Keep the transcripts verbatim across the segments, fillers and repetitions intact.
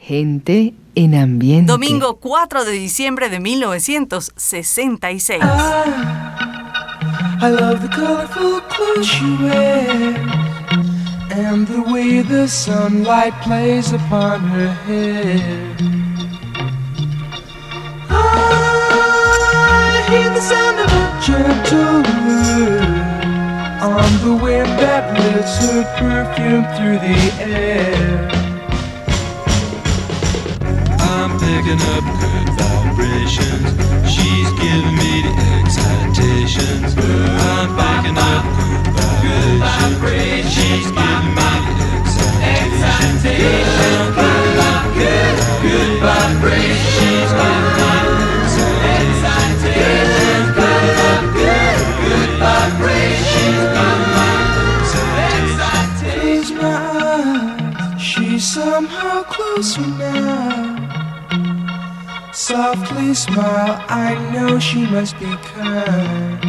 Gente en ambiente. Domingo cuatro de diciembre de mil novecientos sesenta y seis. I, I love the colorful clothes she wears and the way the sunlight plays upon her hair. I hear the sound of a gentle word on the wind that lifts her perfume through the air. I'm picking up good vibrations. She's giving me the excitations. I'm picking up good vibrations. She's giving me the excitations. Good, good, good vibrations. She's giving me the excitations. Good, good, good vibrations. She's giving me the excitations. Close my eyes, she's somehow closer now. Softly smile, I know she must be kind.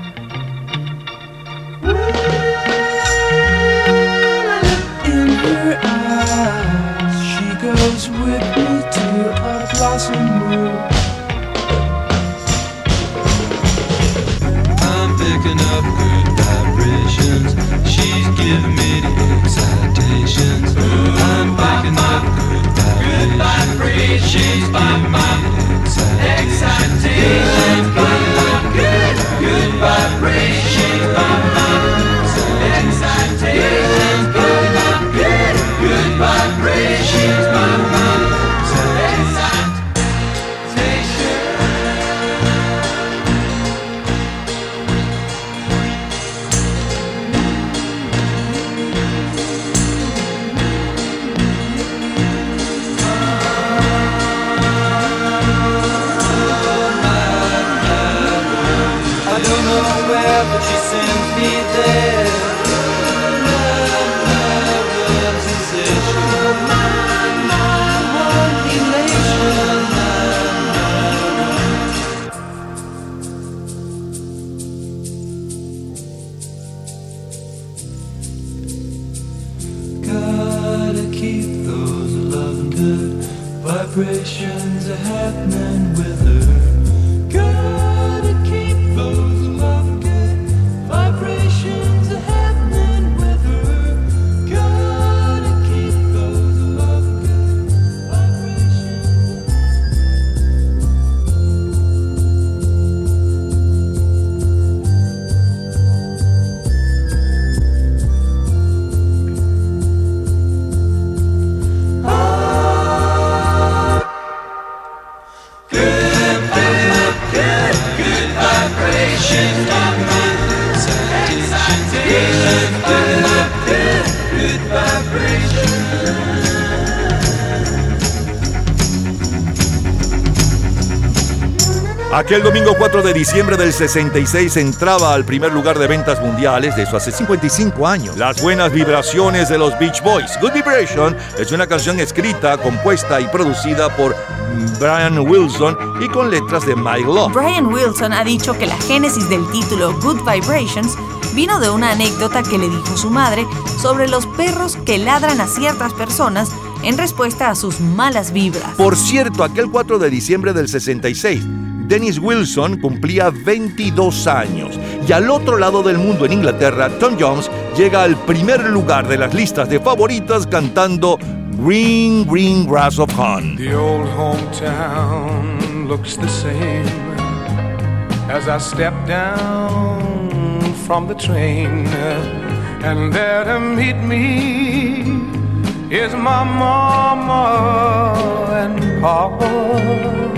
In her eyes, she goes with me to a blossom room. I'm picking up good vibrations. She's giving me the excitations. I'm picking up good vibrations. She's giving me the excitations. Good, good vibrations. She's giving me the excitations. Good, good, good vibrations. She's giving me the excitations. But she sends me there. Love, love, sensation. My, my, one elation. Gotta keep those loving good vibrations happening with her. Gotta keep those loving good vibrations are happening with her. Gotta keep those love good vibrations. Ah, good, good, good, good vibrations. Aquel domingo cuatro de diciembre del sesenta y seis entraba al primer lugar de ventas mundiales, de eso hace cincuenta y cinco años. Las buenas vibraciones de los Beach Boys. Good Vibration es una canción escrita, compuesta y producida por Brian Wilson y con letras de Mike Love. Brian Wilson ha dicho que la génesis del título Good Vibrations vino de una anécdota que le dijo su madre sobre los perros que ladran a ciertas personas en respuesta a sus malas vibras. Por cierto, aquel cuatro de diciembre del sesenta y seis, Dennis Wilson cumplía veintidós años y al otro lado del mundo, en Inglaterra, Tom Jones llega al primer lugar de las listas de favoritas cantando Green, Green Grass of Home. The old hometown looks the same as I step down from the train, and there to meet me is my mama and papa.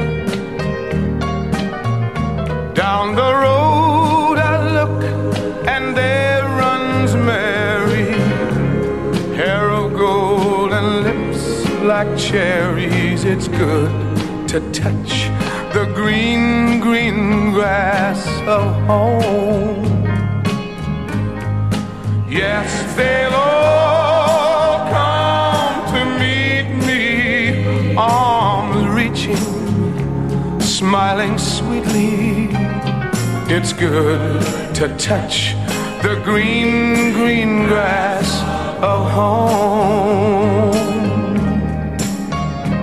Down the road I look and there runs Mary, hair of gold and lips like cherries. It's good to touch the green, green grass of home. Yes, they'll all come to meet me, arms reaching, smiling sweetly. It's good to touch the green, green grass of home.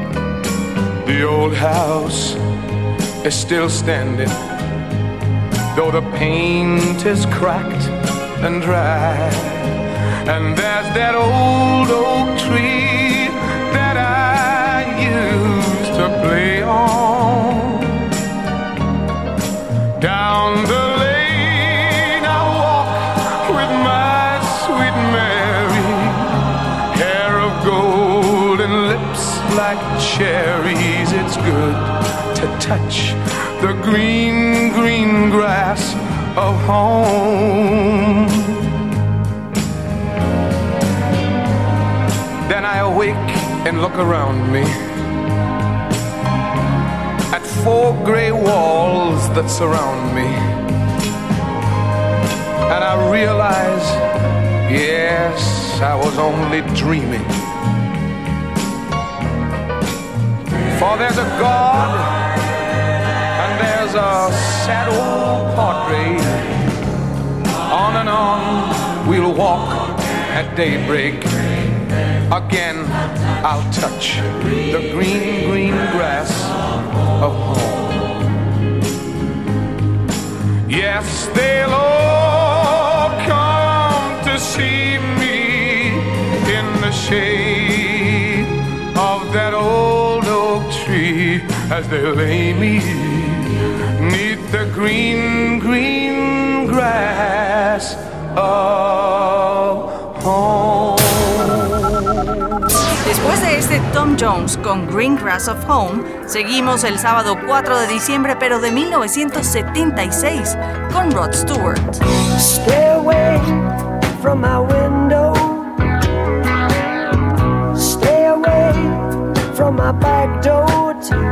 house is still standing, though the paint is cracked and dry. And there's that old oak tree that I used to play on. Down the lane I walk with my sweet Mary, hair of gold and lips like cherries. It's good to touch the green, green grass of home. Then I awake and look around me at four gray walls that surround me, and I realize, yes, I was only dreaming. For there's a God and there's a sad old portrait. On and on we'll walk at daybreak. Again I'll touch the green, green grass of home. Yes, they'll all come to see me in the shade of that old oak tree as they lay me 'neath the green, green grass of home. Después de este Tom Jones con Green Grass of Home, seguimos el sábado cuatro de diciembre, pero de mil novecientos setenta y seis, con Rod Stewart. Stay away from my window. Stay away from my back door.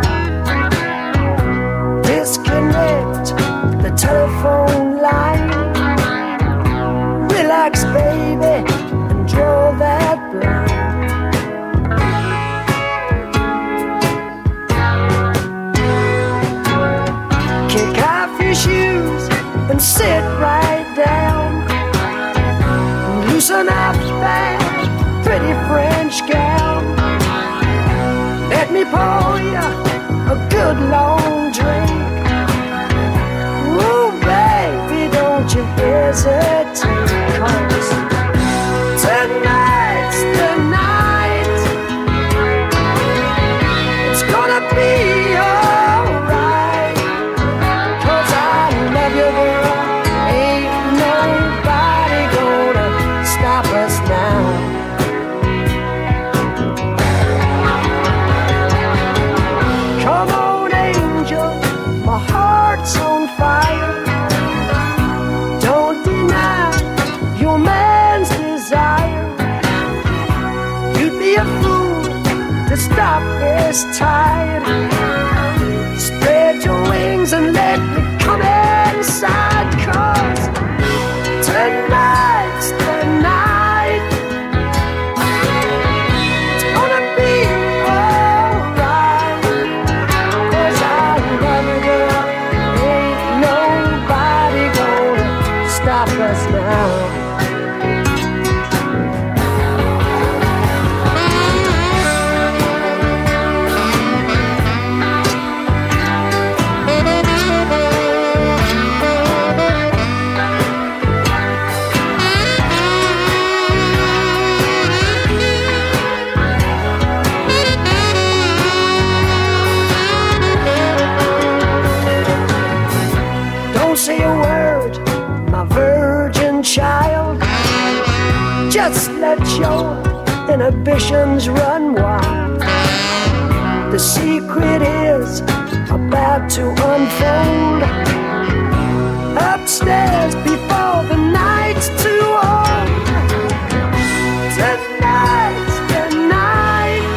Disconnect the telephone line. Relax, baby, and draw that blind. Kick off your shoes and sit right down. And loosen up that pretty French gown. Let me pour you a good long drink. Ooh, baby, don't you hesitate, 'cause tonight's the night. It's gonna be alright, 'cause I love you, girl. Ain't nobody gonna stop us now. Come on, angel, my heart's on fire. Don't deny your man's desire. You'd be a fool to stop this tide. Spread your wings and let me come inside, 'cause tonight's the night. It's gonna be alright, 'cause I love you, girl. Ain't nobody gonna stop us now. Don't say a word, my virgin child. Just let your inhibitions run wild. The secret is about to unfold. Upstairs before the night's too old. Tonight's the night.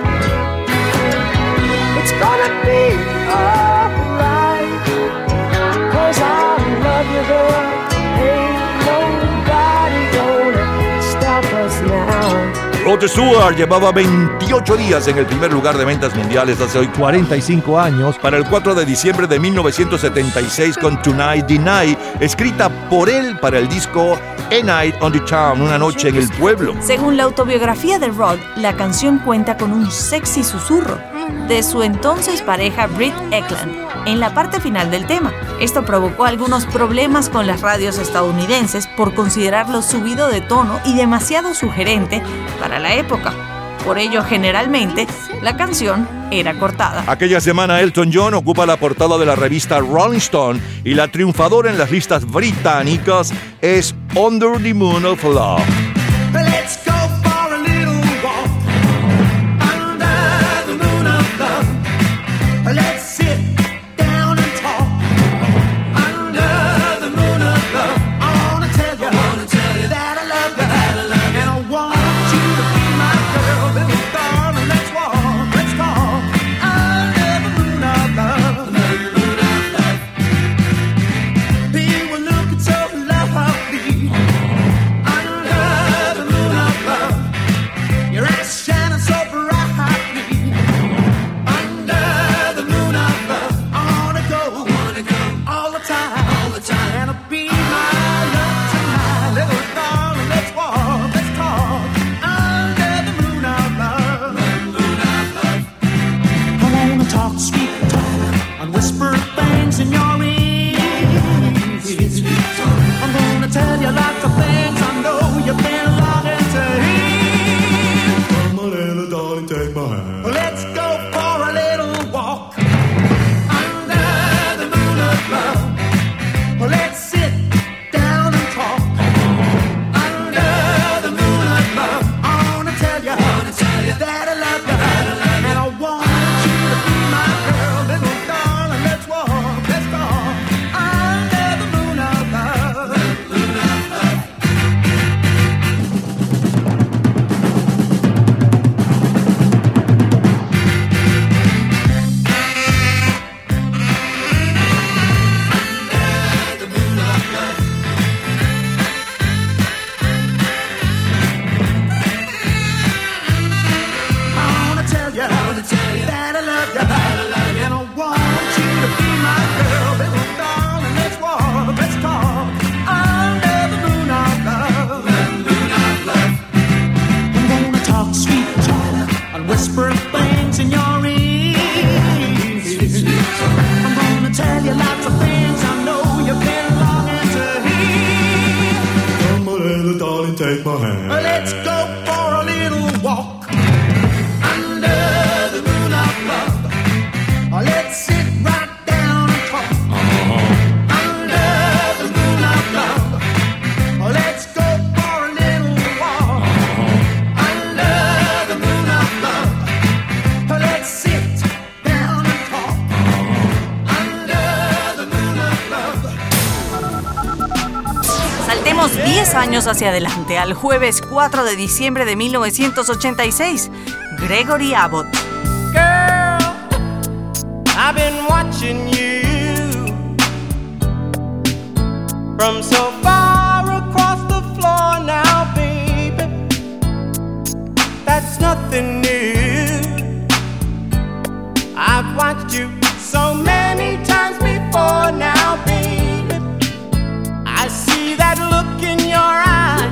It's gonna be alright, 'cause I love you, girl. Ain't nobody gonna stop us now. Rod Stewart llevaba veintiocho días en el primer lugar de ventas mundiales hace hoy cuarenta y cinco años, para el cuatro de diciembre de mil novecientos setenta y seis con Tonight the Night, escrita por él para el disco A Night on the Town, una noche en el pueblo. Según la autobiografía de Rod, la canción cuenta con un sexy susurro de su entonces pareja Britt Ekland en la parte final del tema. Esto provocó algunos problemas con las radios estadounidenses por considerarlo subido de tono y demasiado sugerente para la época. Por ello, generalmente, la canción era cortada. Aquella semana, Elton John ocupa la portada de la revista Rolling Stone y la triunfadora en las listas británicas es Under the Moon of Love. Let's go for a little walk under the moon of love. Let's sit down and talk under the moon of love. I wanna tell you, I wanna tell you that I love you, that I love you, and I want you to be my girl, little darling. Let's walk, let's talk under the moon of love. Under the moon of love. You were looking so lovely. Your eyes shining so brightly under the moon of love. I wanna go, wanna go all the time, all the time. And I'll be my love tonight, little darling. Let's walk, let's talk under the moon of love. Moon of love. I wanna talk sweet talk and whisper things in your ear. Sweet, sweet talk. I'm gonna tell you lots of things I know you've been longing to hear. Take my hand. Let's go for a little walk under the moon of love. Let's sit down and talk under the moon of love. I wanna tell you, I wanna tell you that I love you, that I love you, and I want you to be my girl, little darling. Let's walk, let's talk under the moon of love. The moon of love. Whisper things in your ear. I'm gonna tell you lots of things I know you've been longing to hear. Come on, little darling, take my hand. Let's go for a little walk under the moon of love. Let's sit right down and talk uh-huh. under the moon of love. Let's go for a little walk uh-huh. under the moon of love. Let's sit down and talk uh-huh. under the moon of love. Saltemos diez años hacia adelante, al jueves cuatro de diciembre de mil novecientos ochenta y seis. Gregory Abbott. Girl, I've been watching you from so far across the floor now, baby. That's nothing new. I've watched you so many times before now, baby. I see that look in your eyes,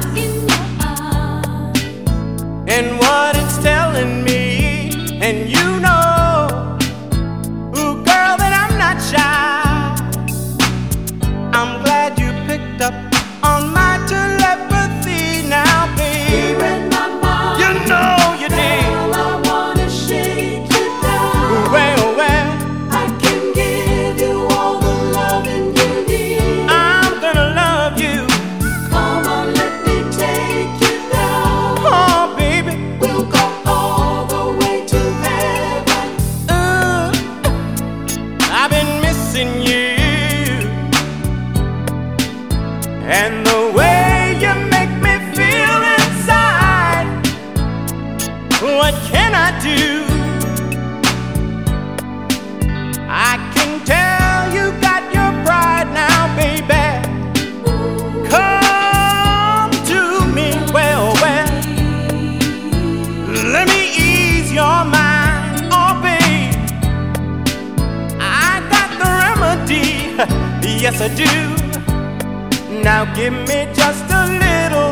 and what it's telling me, and you know, ooh, girl, that I'm not shy. I'm glad you picked up on my telepathy now, baby. You know you did. Girl, I wanna shake you down. Well, well, I can give you all the loving you need. I'm gonna love you. Come on, let me take you down. Oh, baby. We'll go all the way to heaven. Uh, I've been missing you, and the way you make me feel inside. What can I do? I can tell you got your pride now, baby. Come to me, well, well. Let me ease your mind, oh babe. I got the remedy, yes I do. Now give me just a little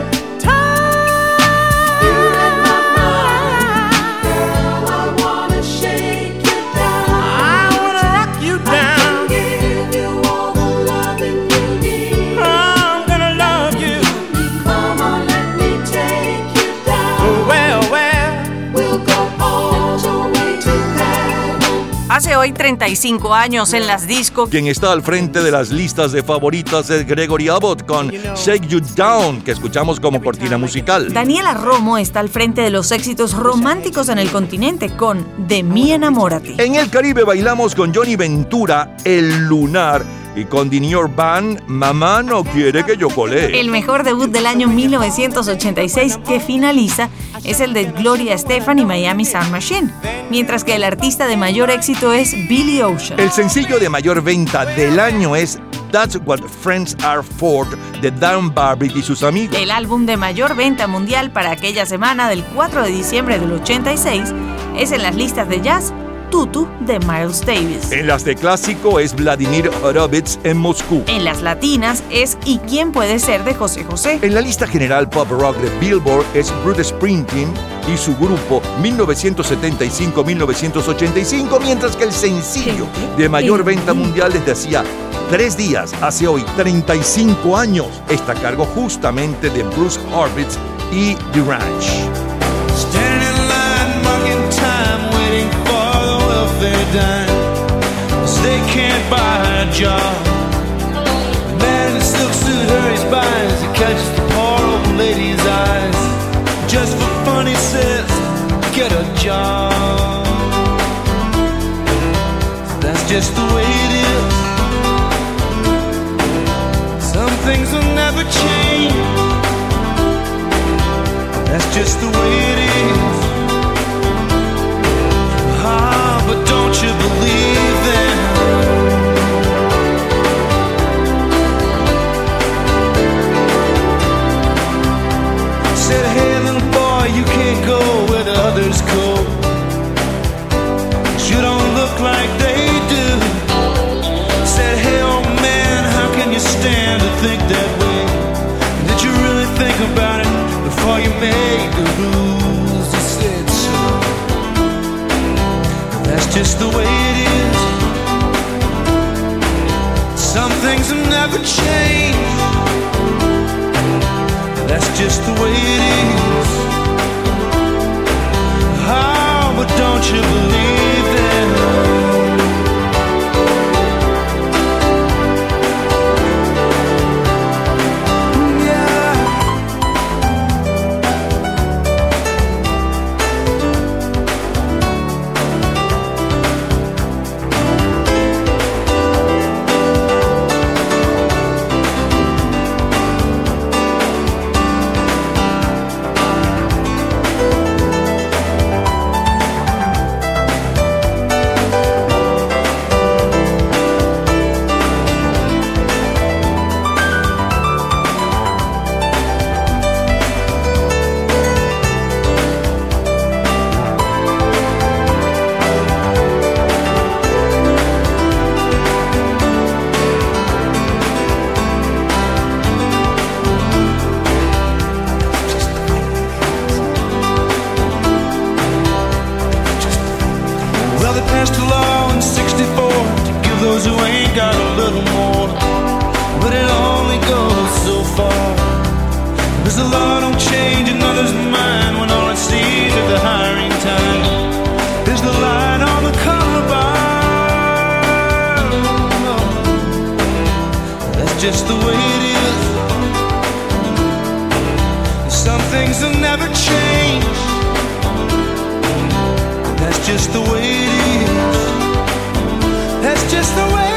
time. You in my mind, girl, I wanna shake hoy treinta y cinco años en las discos. Quien está al frente de las listas de favoritas es Gregory Abbott con Shake You Down, que escuchamos como cortina musical. Daniela Romo está al frente de los éxitos románticos en el continente con De mí enamórate. En el Caribe bailamos con Johnny Ventura, El Lunar, y con The New York Band, Mamá no quiere que yo colee. El mejor debut del año mil novecientos ochenta y seis que finaliza es el de Gloria Estefan y Miami Sound Machine, mientras que el artista de mayor éxito es Billy Ocean. El sencillo de mayor venta del año es That's What Friends Are For, de Dan Barbitt y sus amigos. El álbum de mayor venta mundial para aquella semana del cuatro de diciembre del ochenta y seis es en las listas de jazz Tutu de Miles Davis. En las de clásico es Vladimir Horowitz en Moscú. En las latinas es ¿Y quién puede ser? De José José. En la lista general pop rock de Billboard es Bruce Springsteen y su grupo mil novecientos setenta y cinco a mil novecientos ochenta y cinco, mientras que el sencillo de mayor venta mundial desde hacía tres días, hace hoy treinta y cinco años, está a cargo justamente de Bruce Horowitz y The Ranch. They can't buy a job. The man in the silk suit hurries by as he catches the poor old lady's eyes. Just for fun, he says, get a job. That's just the way it is. Some things will never change. That's just the way it is. Ah, but don't you believe them? Said, hey little boy, you can't go where the others go. You don't look like they do. Said, hey old man, how can you stand to think that way? Did you really think about it before you made the rules? He said so. That's just the way it is. Some things will never change. That's just the way it is. Oh, but don't you believe that? Just the way it is. Some things will never change. That's just the way it is. That's just the way it is.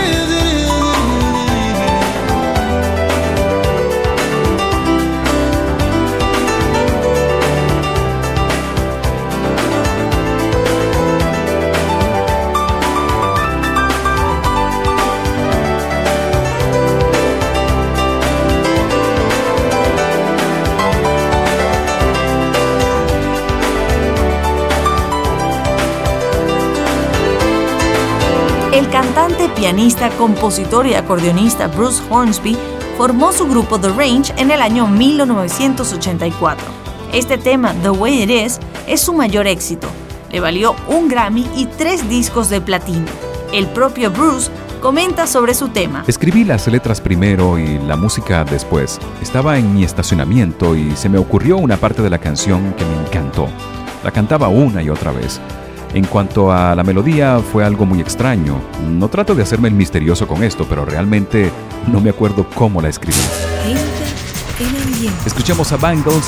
El cantante, pianista, compositor y acordeonista Bruce Hornsby formó su grupo The Range en el año mil novecientos ochenta y cuatro. Este tema, The Way It Is, es su mayor éxito. Le valió un Grammy y tres discos de platino. El propio Bruce comenta sobre su tema. Escribí las letras primero y la música después. Estaba en mi estacionamiento y se me ocurrió una parte de la canción que me encantó. La cantaba una y otra vez. En cuanto a la melodía, fue algo muy extraño. No trato de hacerme el misterioso con esto, pero realmente no me acuerdo cómo la escribí. Escuchemos a Bangles.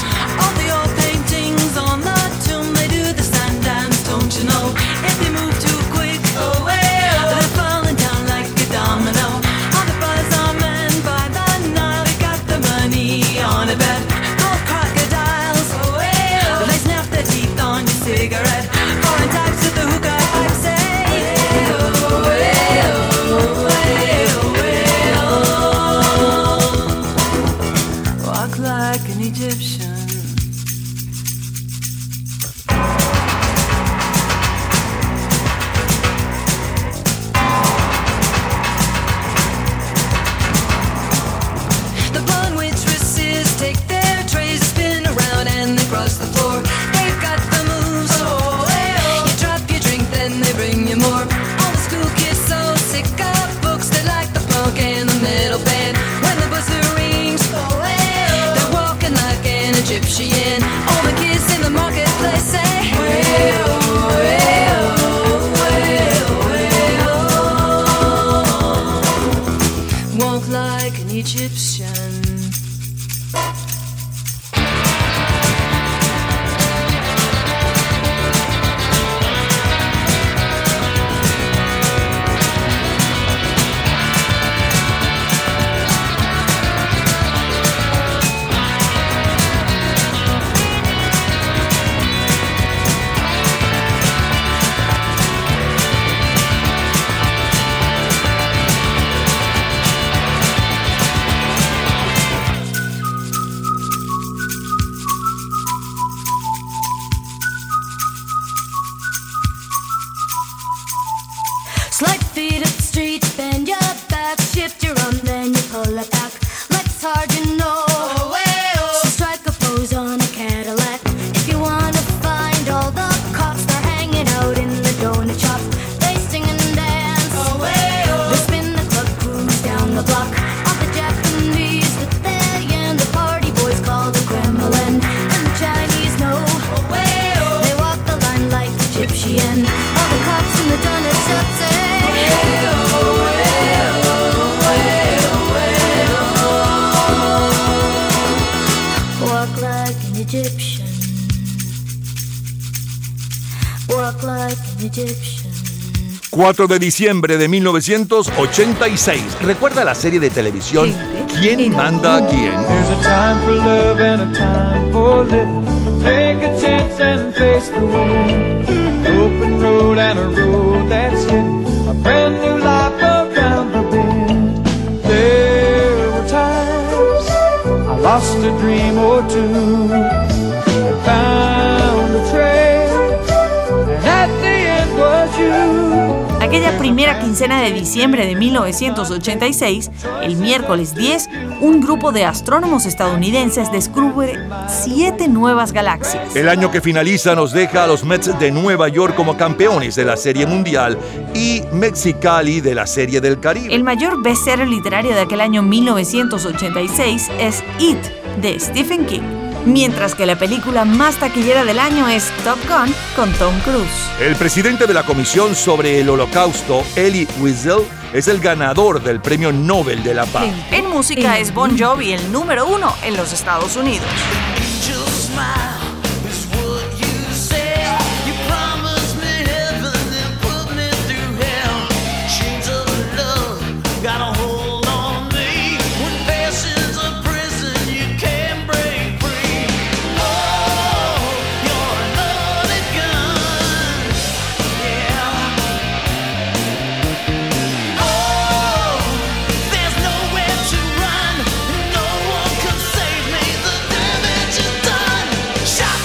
cuatro de diciembre de mil novecientos ochenta y seis. ¿Recuerda la serie de televisión ¿Quién manda a quién? There's a time for love and a time for living. Take a chance and face the wind. An open road and a road that's hidden. A brand new life around the bend. There were times I lost a dream or two and found a trail, and at the end was you. Aquella primera quincena de diciembre de mil novecientos ochenta y seis, el miércoles diez, un grupo de astrónomos estadounidenses descubre siete nuevas galaxias. El año que finaliza nos deja a los Mets de Nueva York como campeones de la Serie Mundial y Mexicali de la Serie del Caribe. El mayor bestseller literario de aquel año mil novecientos ochenta y seis es It, de Stephen King. Mientras que la película más taquillera del año es Top Gun con Tom Cruise. El presidente de la Comisión sobre el Holocausto, Elie Wiesel, es el ganador del Premio Nobel de la Paz. En música es Bon Jovi el número uno en los Estados Unidos. Shot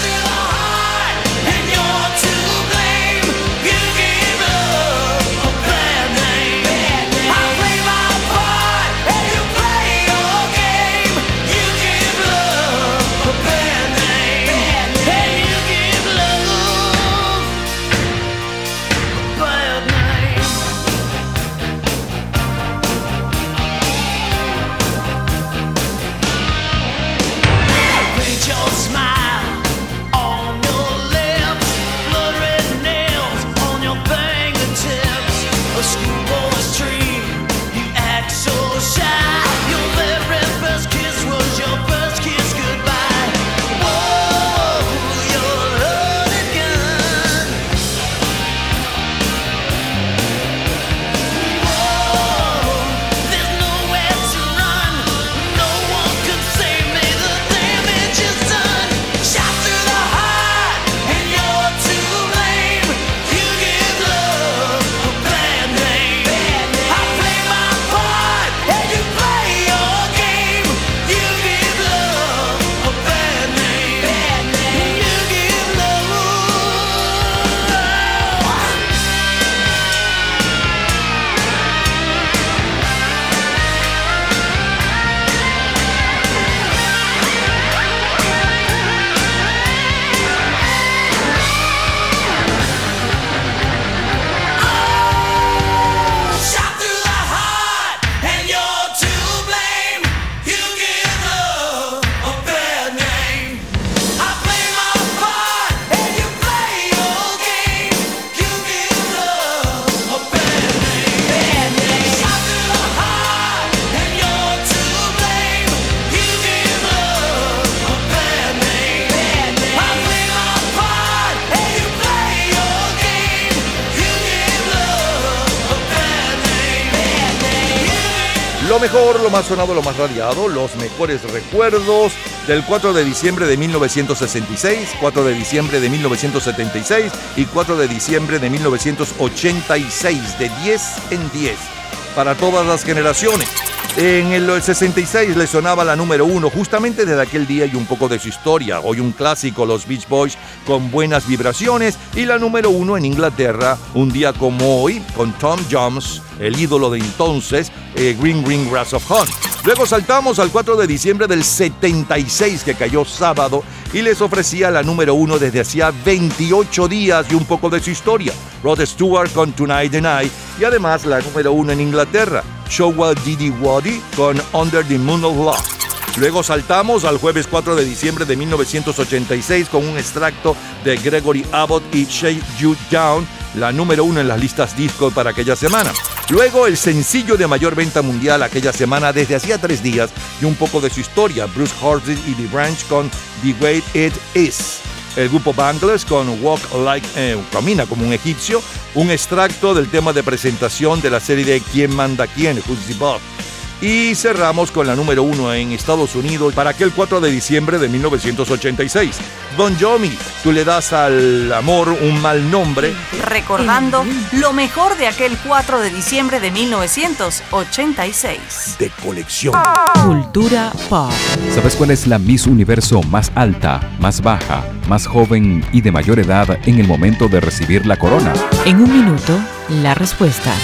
mejor, lo más sonado, lo más radiado, los mejores recuerdos del cuatro de diciembre de mil novecientos sesenta y seis, cuatro de diciembre de mil novecientos setenta y seis y cuatro de diciembre de mil novecientos ochenta y seis, de diez en diez, para todas las generaciones. En el sesenta y seis le sonaba la número uno, justamente desde aquel día y un poco de su historia. Hoy un clásico, los Beach Boys con Buenas Vibraciones, y la número uno en Inglaterra, un día como hoy, con Tom Jones, el ídolo de entonces, eh, Green Green Grass of Home. Luego saltamos al cuatro de diciembre del setenta y seis, que cayó sábado, y les ofrecía la número uno desde hacía veintiocho días y un poco de su historia. Rod Stewart con Tonight the Night, y además la número uno en Inglaterra, Showa Didi Wadi con Under the Moon of Love. Luego saltamos al jueves cuatro de diciembre de mil novecientos ochenta y seis con un extracto de Gregory Abbott y Shake You Down, la número uno en las listas disco para aquella semana. Luego el sencillo de mayor venta mundial aquella semana desde hacía tres días y un poco de su historia, Bruce Hornsby y The Branch con The Way It Is. El grupo Bangles con Walk Like, eh, Camina como un egipcio, un extracto del tema de presentación de la serie de ¿Quién manda quién? Who's the Boss? Y cerramos con la número uno en Estados Unidos para aquel cuatro de diciembre de mil novecientos ochenta y seis. Bon Jovi, tú le das al amor un mal nombre. Recordando lo mejor de aquel cuatro de diciembre de mil novecientos ochenta y seis. De colección. Cultura pop. ¿Sabes cuál es la Miss Universo más alta, más baja, más joven y de mayor edad en el momento de recibir la corona? En un minuto, la respuesta.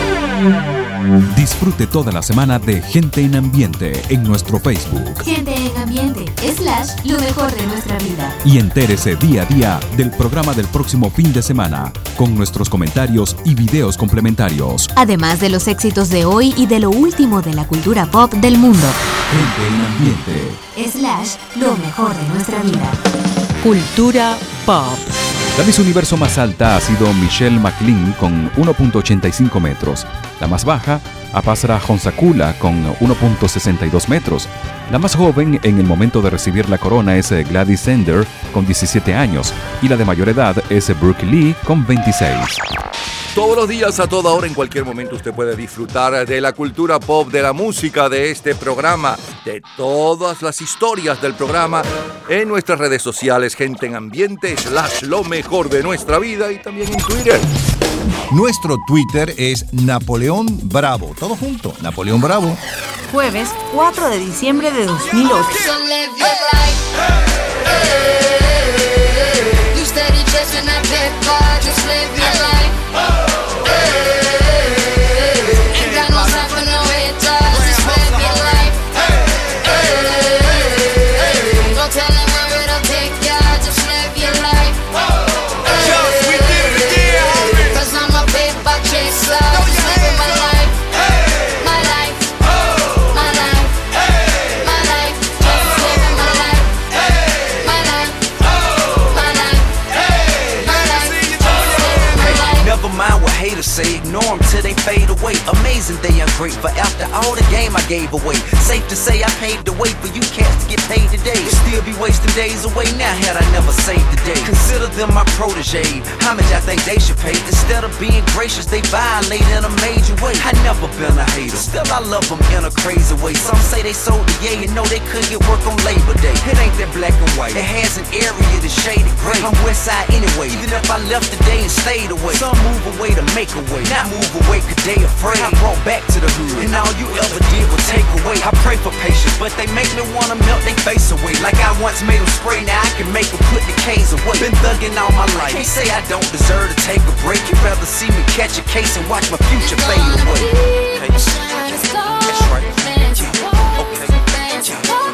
Disfrute toda la semana de Gente en Ambiente en nuestro Facebook. Gente en Ambiente, slash, lo mejor de nuestra vida. Y entérese día a día del programa del próximo fin de semana, con nuestros comentarios y videos complementarios. Además de los éxitos de hoy y de lo último de la cultura pop del mundo. Gente en Ambiente, slash, lo mejor de nuestra vida. Cultura pop. La Miss Universo más alta ha sido Michelle McLean con uno punto ochenta y cinco metros. La más baja, Apasara Honsakula con uno punto sesenta y dos metros. La más joven en el momento de recibir la corona es Gladys Sender con diecisiete años. Y la de mayor edad es Brooke Lee con veintiséis. Todos los días, a toda hora, en cualquier momento, usted puede disfrutar de la cultura pop, de la música, de este programa, de todas las historias del programa en nuestras redes sociales, Gente en Ambiente, slash lo mejor de nuestra vida, y también en Twitter. Nuestro Twitter es Napoleón Bravo. Todo junto, Napoleón Bravo. Jueves cuatro de diciembre de dos mil ocho. Say ignore them till they fade away. Amazing they ungrateful after all the game I gave away. Safe to say I paved the way for you cats to get paid today. Still be wasting days away now had I never saved the day. Consider them my protege. How much I think they should pay? Instead of being gracious, they violate in a major way. I never been a hater, still I love them in a crazy way. Some say they sold the yay and know they couldn't get work on Labor Day. It ain't that black and white, it has an area that's shaded gray. I'm west side anyway, even if I left today and stayed away. Some move away to make a way, not move away cause they afraid. I brought back to the hood, and all you ever did was take away. I pray for patience, but they make me wanna melt they face away. Like I once made them spray, now I can make them put the K's away. Been thugging all my life, can't say I don't deserve to take a break. You'd rather see me catch a case and watch my future fade away. Okay. That's right. Yeah. Okay. Yeah.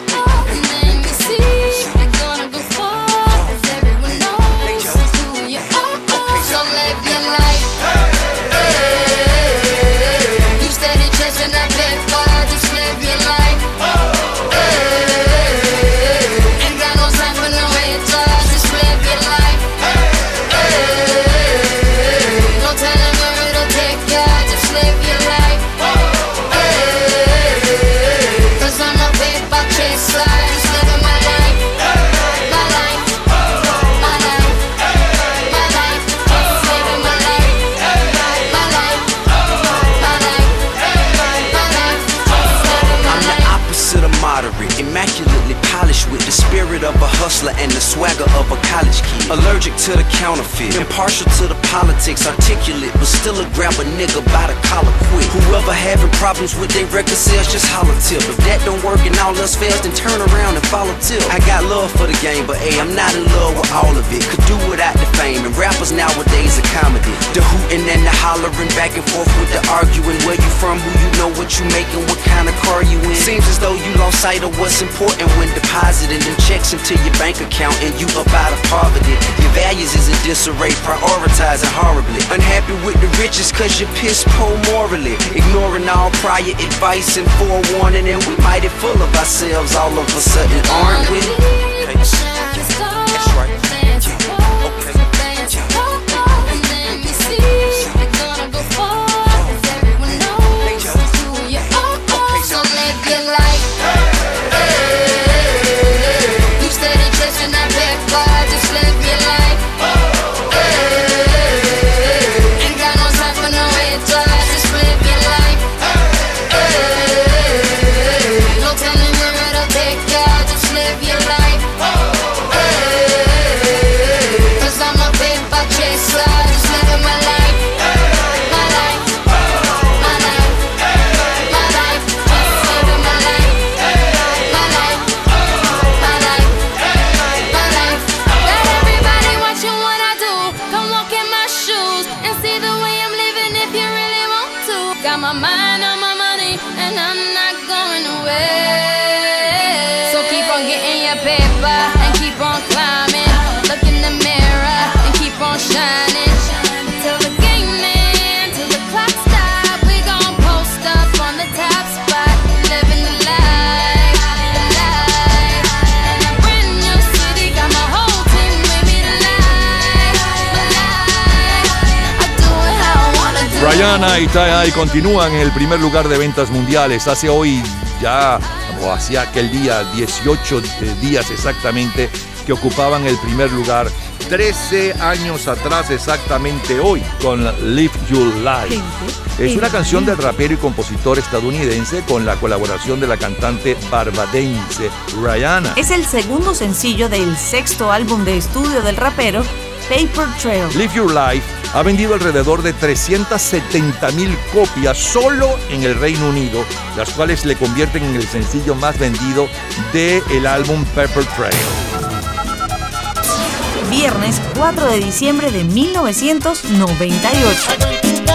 hustler and the swagger of a college kid. Allergic to the counterfeit, impartial to the politics, articulate, but still a grab a nigga by the collar quick. Whoever having problems with their record sales, just holler tip. If that don't work and all else fails, then turn around and follow tip. I got love for the game, but hey, I'm not in love with all of it. Could do without the fame, and rappers nowadays are comedy. The hooting and the hollering, back and forth with the arguing. Where you from, who you know, what you making, what kind of car you in. Seems as though you lost sight of what's important when depositing them checks into your bank account and you up out of poverty. Your values is in disarray, prioritizing horribly. Unhappy with the riches cause you're piss poor morally. Ignoring all prior advice and forewarning, and we mighty full of ourselves all of a sudden, aren't we? Okay. That's right. Rihanna y T I continúan en el primer lugar de ventas mundiales. Hace hoy ya, o hacia aquel día, dieciocho días exactamente, que ocupaban el primer lugar. trece años atrás exactamente hoy, con Live Your Life. Es una canción del rapero y compositor estadounidense con la colaboración de la cantante barbadense Rihanna. Es el segundo sencillo del sexto álbum de estudio del rapero, Paper Trail. Live Your Life ha vendido alrededor de trescientas setenta mil copias solo en el Reino Unido, las cuales le convierten en el sencillo más vendido del álbum Paper Trail. Viernes cuatro de diciembre de mil novecientos noventa y ocho.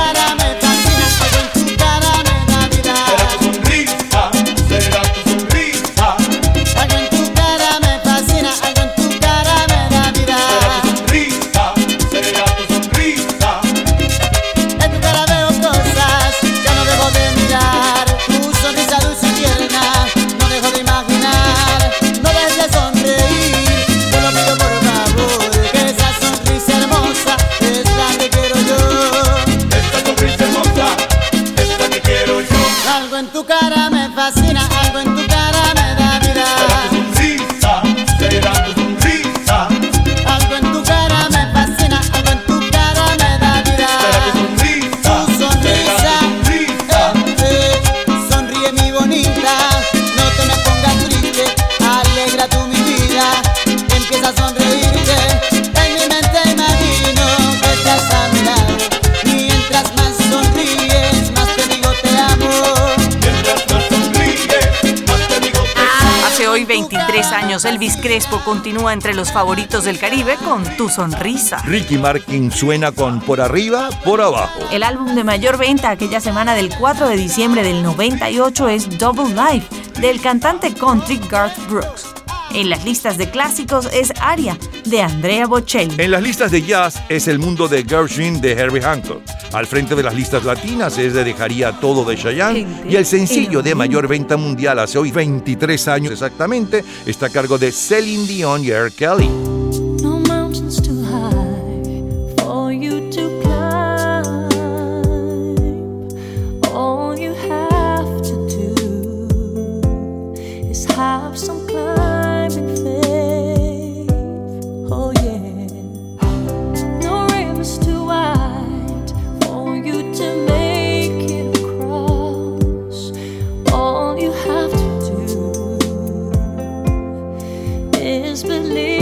veintitrés años, Elvis Crespo continúa entre los favoritos del Caribe con Tu Sonrisa. Ricky Martin suena con Por Arriba, Por Abajo. El álbum de mayor venta aquella semana del cuatro de diciembre del noventa y ocho es Double Life, del cantante country Garth Brooks. En las listas de clásicos es Aria, de Andrea Bocelli. En las listas de jazz es El Mundo de Gershwin, de Herbie Hancock. Al frente de las listas latinas es de Dejaría Todo, de Chayanne. Y el sencillo de mayor venta mundial hace hoy veintitrés años exactamente está a cargo de Celine Dion y R. Kelly. No mountains too high for you to climb. All you have to do is have some climbing faith. Oh yeah. No river's too wide for you to make it across. All you have to do is believe.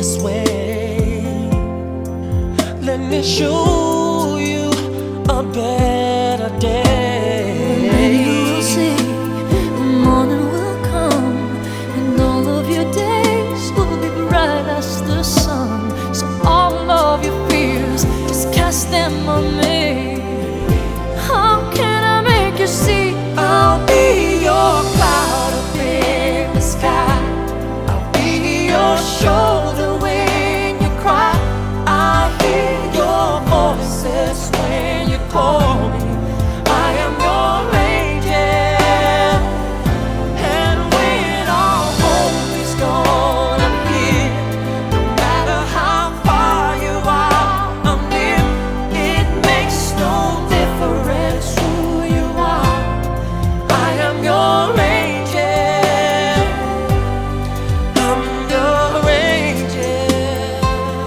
this way. Let me show you a better day. Maybe you'll see the morning will come, and all of your days will be bright as the sun. So all of your fears, just cast them on me. How can I make you see? I'll be your cloud up in the sky. I'll be your shoulder when you cry. I hear your voices when you call me. I am your angel. And when all hope is gone, I'm here. No matter how far you are, I'm near. It makes no difference who you are. I am your angel. I'm your angel.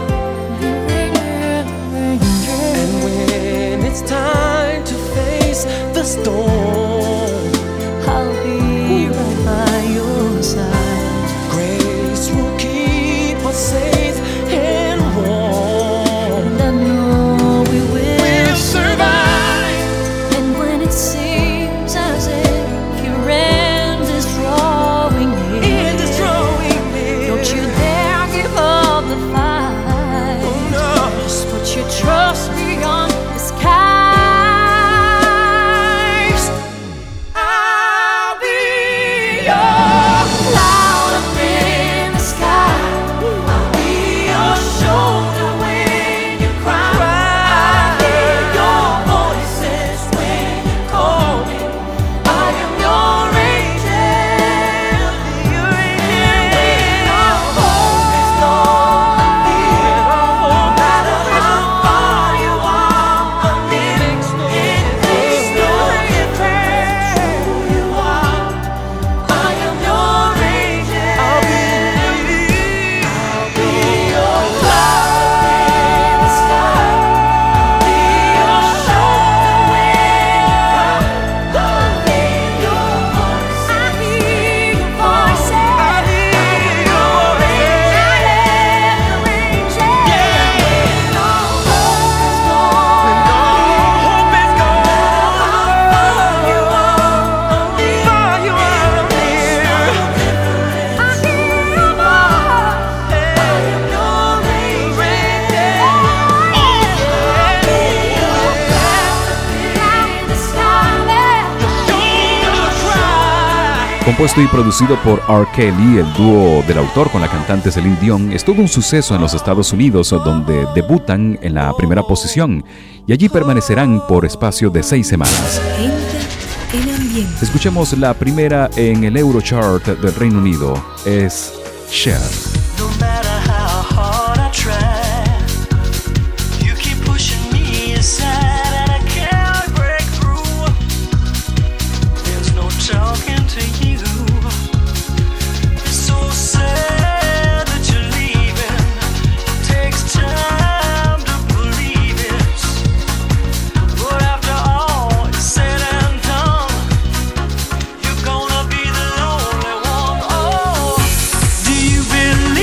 And when it's time to face the storm, I'll be right by your side. grace will keep us safe and warm. And I know we will We'll survive. And when it seems as if your end is drawing near, It is drawing near. don't you dare give up the fight. Oh, no. Just put your trust beyond the skies. I'll be your cloud up in the sky. I'll be your shoulder when you cry. I hear your voices when you call me. I am your angel. Your angel. When all hope is gone, I'm here. No matter how far you are, I'm near. It makes no difference who you are. I am your angel. I'll be, I'll be your cloud in the sky. I'll be your shoulder when you cry. I hear your voice. I hear your voice. I hear your angel. When all hope is gone, when all hope is gone, how far you are, I'm near. Far you are, I'm near. I hear your voice. I am your angel. I'll be your cloud in the sky. Compuesto y producido por R. Kelly, el dúo del autor con la cantante Celine Dion es todo un suceso en los Estados Unidos, donde debutan en la primera posición y allí permanecerán por espacio de seis semanas. Entra en ambiente. Escuchemos la primera en el Eurochart del Reino Unido, es Cher. No matter how hard I try, you keep pushing me aside and I can't break through. There's no talking to you. It's so sad that you're leaving. It takes time to believe it. But after all is said and done, you're gonna be the lonely one. Oh, do you believe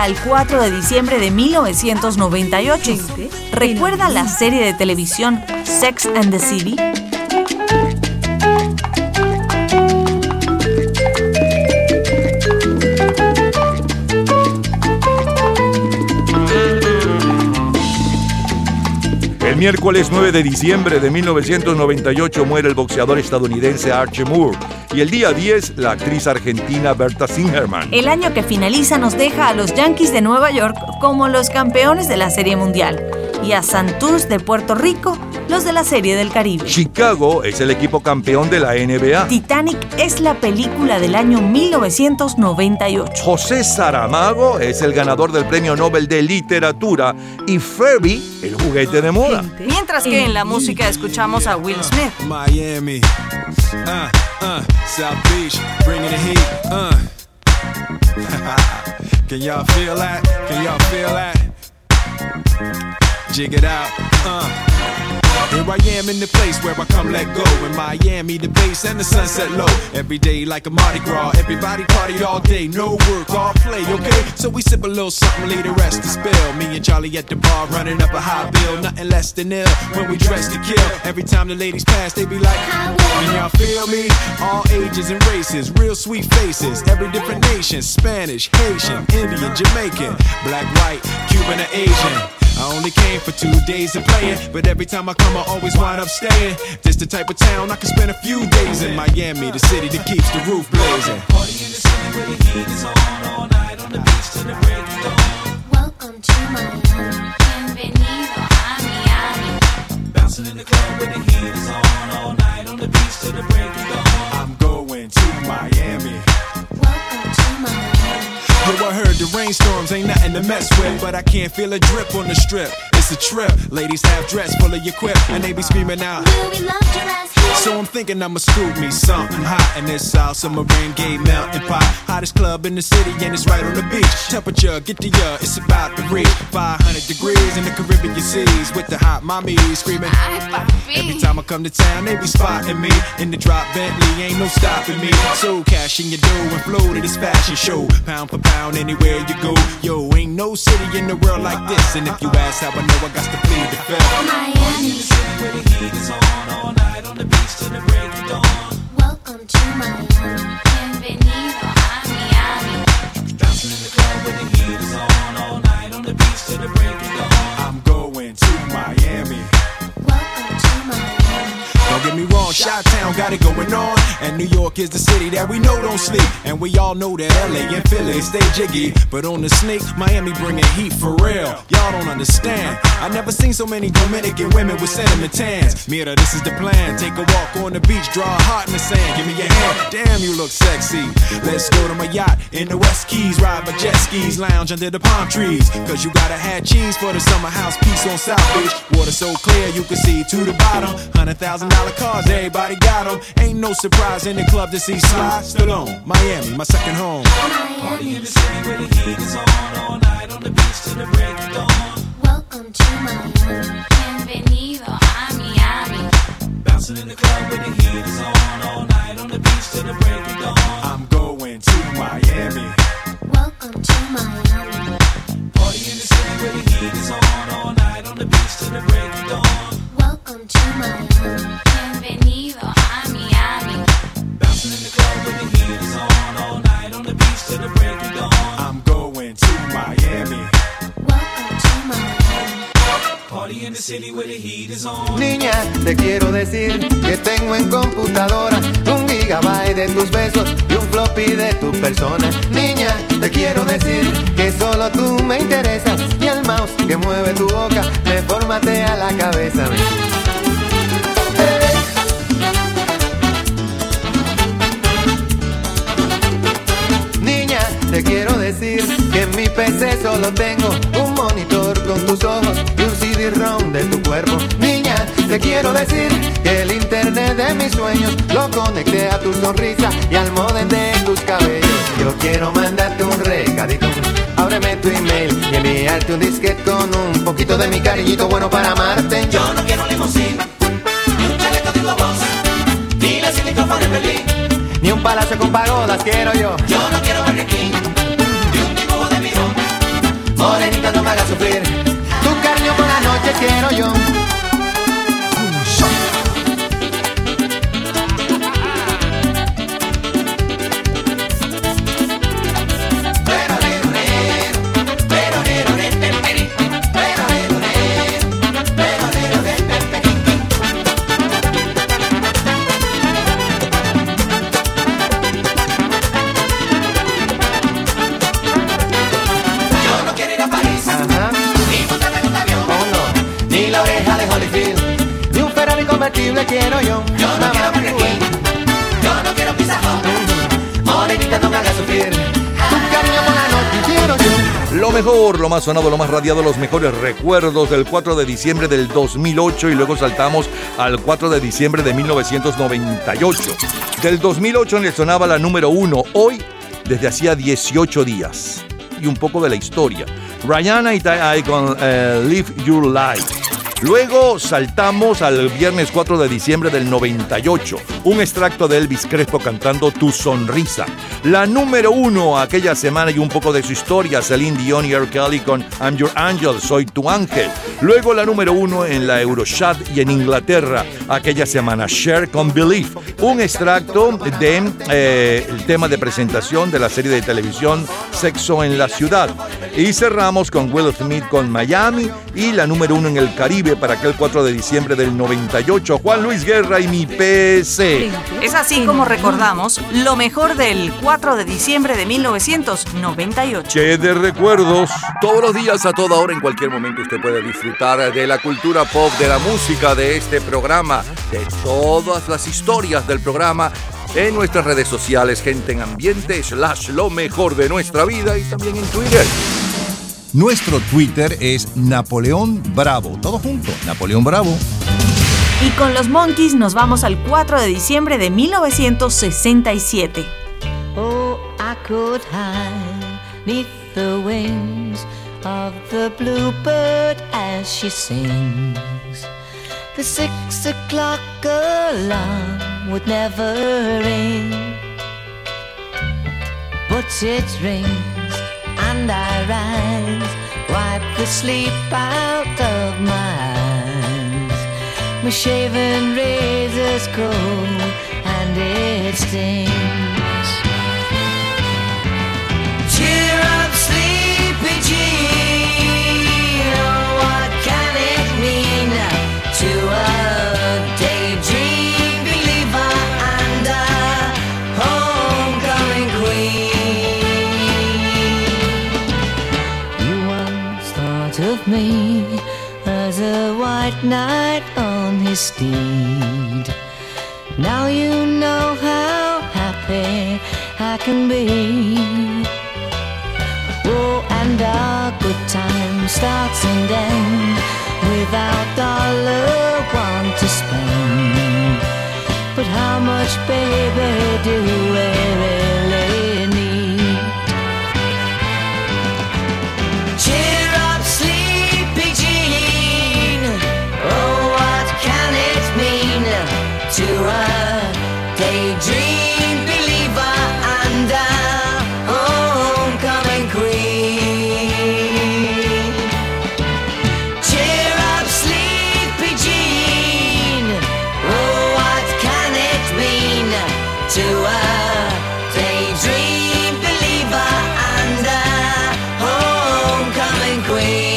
viaja al cuatro de diciembre de mil novecientos noventa y ocho. ¿Recuerda la serie de televisión Sex and the City? El miércoles nueve de diciembre de mil novecientos noventa y ocho muere el boxeador estadounidense Archie Moore y el día diez la actriz argentina Berta Singerman. El año que finaliza nos deja a los Yankees de Nueva York como los campeones de la Serie Mundial y a Santurce de Puerto Rico los de la Serie del Caribe. Chicago es el equipo campeón de la N B A. Titanic es la película del año mil novecientos noventa y ocho. José Saramago es el ganador del Premio Nobel de Literatura y Furby el juguete de moda. Mientras que en la música escuchamos a Will Smith. Miami, uh, uh, South Beach, bringing the heat, uh. Can y'all feel that? Can y'all feel that? Jig it out, uh. Here I am in the place where I come let go. In Miami, the bass and the sunset low. Every day like a Mardi Gras. Everybody party all day, no work, all play, okay? So we sip a little something, leave the rest to spill. Me and Charlie at the bar running up a high bill. Nothing less than ill when we dress to kill. Every time the ladies pass, they be like, can y'all feel me? All ages and races, real sweet faces. Every different nation, Spanish, Haitian, Indian, Jamaican, black, white, Cuban, or Asian. I only came for two days of playing, but every time I come I always wind up staying. This the type of town I can spend a few days in. Miami, the city that keeps the roof blazing. Party in the city where the heat is on all night on the beach till the break of dawn. Welcome to Miami. Bienvenido a Miami. Bouncing in the club where the heat is on all night on the beach till the break of dawn. I'm going to Miami. Welcome to Miami. Yo, I heard the rainstorms ain't nothing to mess with, but I can't feel a drip on the strip. It's a trip. Ladies have dress full of your quip, and they be screaming out, Will we love your ass here? So I'm thinking I'ma scoop me something hot in this South Submarine Gay melting pot. Hottest club in the city, and it's right on the beach. Temperature, get the ya, it's about to reach five hundred degrees in the Caribbean seas with the hot mommy screaming. Every time I come to town, they be spotting me in the drop Bentley, ain't no stopping me. So cash in your dough and flow to this fashion show, pound for pound anywhere you go. Yo, ain't no city in the world like this, and if you ask how I know, I got to plead the fifth. Miami, the city where the heat is on all night on the beach till the break of dawn. welcome to Miami. Bienvenido a Miami. Bouncing in the club where the heat is on all night on the beach till the break of dawn. I'm going to Miami. Welcome to Miami. Don't get me wrong, Chi-Town got it going on, and New York is the city that we know don't sleep. And we all know that L A and Philly stay jiggy, but on the sneak, Miami bringing heat for real. Y'all don't understand. I never seen so many Dominican women with cinnamon tans. Mira, this is the plan. Take a walk on the beach, draw a heart in the sand. Give me your hand. Damn, you look sexy. Let's go to my yacht in the West Keys, ride my jet skis, lounge under the palm trees. Cause you gotta have cheese for the summer house piece on South Beach. Water so clear you can see to the bottom. Hundred thousand dollar cars, everybody got them. Ain't no surprise in the club to see Sly Stallone. Miami, my second home. Miami, in the city where the heat is on all night on the beach till the break of dawn. welcome to Miami. Bienvenido a Miami. Bouncing in the club where the heat is on all night on the beach till the break of dawn. I'm going to Miami. Welcome to Miami. Party in the city where the heat is on all night on the beach till the break of dawn. Welcome to Miami. Bienvenido a Miami. Bouncing in the club where the heat is on all night on the beach till the break of dawn. I'm going to Miami. Welcome to Miami. Party in the city where the heat is on. Niña, te quiero decir que tengo en computadora un gigabyte de tus besos y un floppy de tu persona. Niña, te quiero decir que solo tú me interesas y el mouse que mueve tu boca me formatea la cabeza. Niña, te quiero decir que en mi P C solo tengo un monitor con tus ojos y un C D-ROM de tu cuerpo. Niña, te quiero decir que el internet de mis sueños lo conecté a tu sonrisa y al modem de tus cabellos. Yo quiero mandarte un recadito, ábreme tu email y enviarte un disquete con un poquito de mi cariñito bueno para amarte. Yo no quiero limusina, ni un chaleco de voz, ni la silicona en Berlín, ni un palacio con pagodas quiero yo. Yo no quiero Burger King, ni un dibujo de mirón, vieja de Holyfield. Y un Ferrari convertible quiero yo. Yo no quiero Burger King, yo no quiero Pizza Hut. Morenita, no me hagas sufrir. Tu cariño por la noche quiero yo. Lo mejor, lo más sonado, lo más radiado, los mejores recuerdos del cuatro de diciembre del dos mil ocho y luego saltamos al cuatro de diciembre de mil novecientos noventa y ocho. Del dos mil ocho le sonaba la número uno, hoy desde hacía dieciocho días. Y un poco de la historia. Rihanna y Ty con uh, Live Your Life. Luego saltamos al viernes cuatro de diciembre del noventa y ocho, un extracto de Elvis Crespo cantando Tu Sonrisa. La número uno aquella semana y un poco de su historia, Celine Dion y R. Kelly con I'm Your Angel, Soy Tu Ángel. Luego la número uno en la Eurochart y en Inglaterra, aquella semana, Cher con Believe, un extracto de eh, el tema de presentación de la serie de televisión Sexo en la Ciudad. Y cerramos con Will Smith con Miami y la número uno en el Caribe para aquel cuatro de diciembre del noventa y ocho, Juan Luis Guerra y Mi P C. Es así como recordamos lo mejor del cuatro de diciembre de mil novecientos noventa y ocho. ¡Qué de recuerdos! Todos los días, a toda hora, en cualquier momento, usted puede disfrutar de la cultura pop, de la música, de este programa, de todas las historias del programa en nuestras redes sociales, Gente en Ambiente, slash lo mejor de nuestra vida y también en Twitter. Nuestro Twitter es Napoleón Bravo. Todo junto, Napoleón Bravo. Y con los Monkees nos vamos al cuatro de diciembre de mil novecientos sesenta y siete. Oh, I could hide neath the wings of the bluebird as she sings. The six o'clock alarm would never ring, but it rings and I rise, wipe the sleep out of my eyes. My shaven razor's cold and it stings. Cheer up, sleepy Jean. Oh, what can it mean to a daydream believer and a homecoming queen? You once thought of me as a white knight on his steed. Now you know how happy I can be. Oh, and our good time starts and ends without dollar one to spend. But how much, baby, do we really need? Cheer up, sleepy Jean. Oh, what can it mean to a daydream believer and a homecoming queen? Cheer up, sleepy Jean. Oh, what can it mean to a daydream believer and a homecoming queen?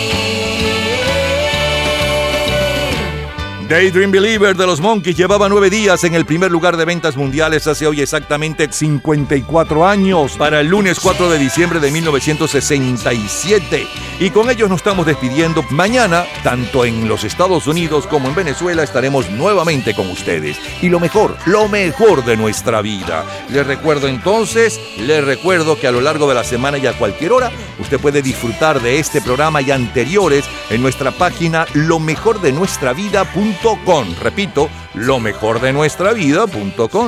Daydream Believer de los Monkees llevaba nueve días en el primer lugar de ventas mundiales hace hoy exactamente cincuenta y cuatro años, para el lunes cuatro de diciembre de mil novecientos sesenta y siete. Y con ellos nos estamos despidiendo. Mañana, tanto en los Estados Unidos como en Venezuela, estaremos nuevamente con ustedes. Y lo mejor, lo mejor de nuestra vida. Les recuerdo entonces, les recuerdo que a lo largo de la semana y a cualquier hora, usted puede disfrutar de este programa y anteriores en nuestra página lo mejor de nuestra vida punto com. Repito, lo mejor de nuestra vida punto com.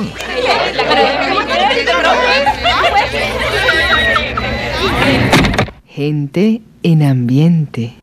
Gente en Ambiente.